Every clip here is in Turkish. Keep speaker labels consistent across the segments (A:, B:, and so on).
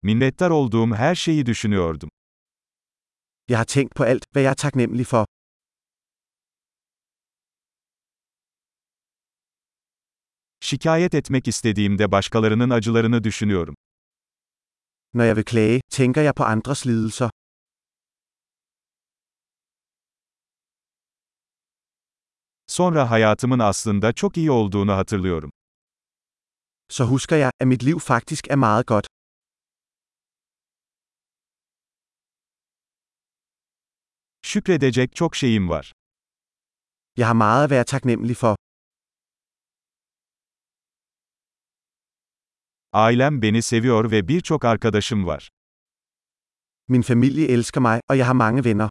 A: Minnettar olduğum her şeyi düşünüyordum.
B: Jeg har tænkt på alt, hvad jeg er taknemmelig for.
A: Şikayet etmek istediğimde başkalarının acılarını düşünüyorum.
B: Når jeg vil klage, tænker jeg på andres lidelser.
A: Sonra hayatımın aslında çok iyi olduğunu hatırlıyorum.
B: Så husker jeg, at mit liv faktisk er meget godt.
A: Şükredecek çok şeyim var.
B: Jeg har meget at være taknemmelig for.
A: Ailem beni seviyor ve birçok arkadaşım var.
B: Min familie elsker mig, og jeg har mange venner.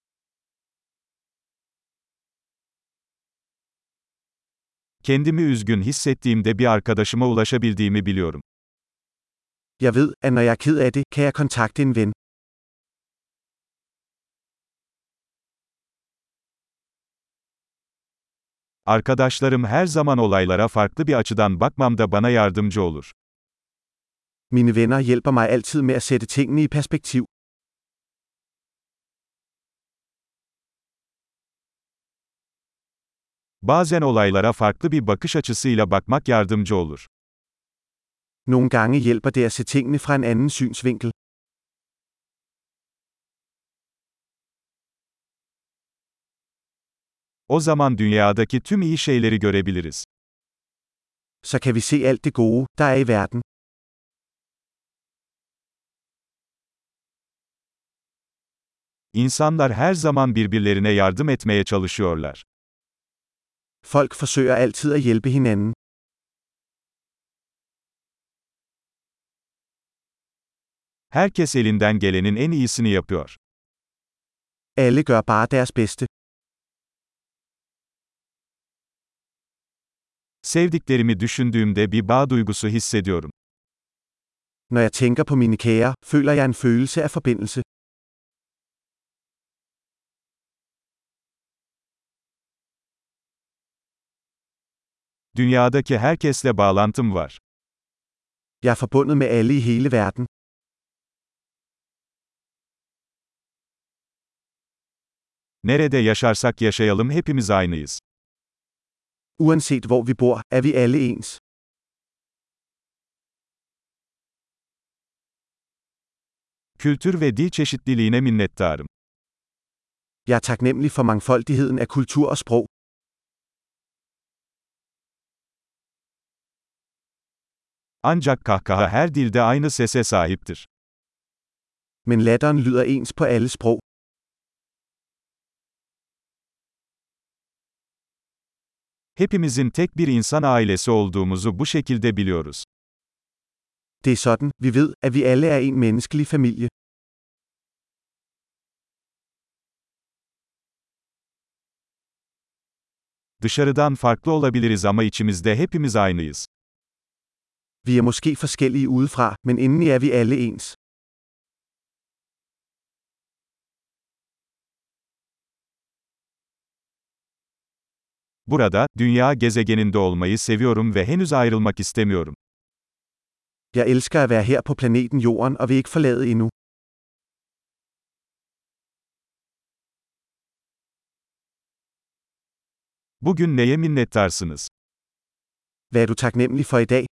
A: Kendimi üzgün hissettiğimde bir arkadaşıma ulaşabildiğimi biliyorum.
B: Jeg ved, at når jeg er ked af det, kan jeg kontakte en ven.
A: Arkadaşlarım her zaman olaylara farklı bir açıdan bakmamda bana yardımcı olur.
B: Mine venner hjælper mig altid med at sætte tingene i perspektiv.
A: Bazen olaylara farklı bir bakış açısıyla bakmak yardımcı olur.
B: Nogle gange hjælper det at se tingene fra en anden synsvinkel.
A: O zaman dünyadaki tüm iyi şeyleri görebiliriz.
B: Så kan vi se alt det gode, der er i verden.
A: İnsanlar her zaman birbirlerine yardım etmeye çalışıyorlar.
B: Folk forsøger altid at hjælpe hinanden.
A: Herkes elinden gelenin en iyisini yapıyor.
B: Alle gør bare deres bedste.
A: Sevdiklerimi düşündüğümde bir bağ duygusu hissediyorum.
B: Når jeg tænker på mine kære, føler jeg en følelse af forbindelse.
A: Dünyadaki herkesle bağlantım var.
B: Jeg er forbundet med alle i hele verden.
A: Nerede yaşarsak yaşayalım hepimiz aynıyız.
B: Uanset hvor vi bor, er vi alle ens.
A: Kültür ve dil çeşitliliğine minnettarım.
B: Jeg er taknemmelig for mangfoldigheden af kultur og sprog.
A: Ancak kahkaha her dilde aynı sese sahiptir.
B: Men latteren lyder ens på alle sprog.
A: Hepimizin tek bir insan ailesi olduğumuzu bu şekilde biliyoruz.
B: Det er sådan, vi ved, at vi alle er en menneskelig familie.
A: Dışarıdan farklı olabiliriz ama içimizde hepimiz aynıyız.
B: Vi er måske forskellige udefra, men indeni er vi alle ens.
A: Burada, dünya gezegeninde olmayı seviyorum ve henüz ayrılmak istemiyorum.
B: Jeg elsker at være her på planeten Jorden og vil ikke forlade endnu.
A: Bugün neye minnettarsınız?
B: Hvad er du taknemmelig for i dag?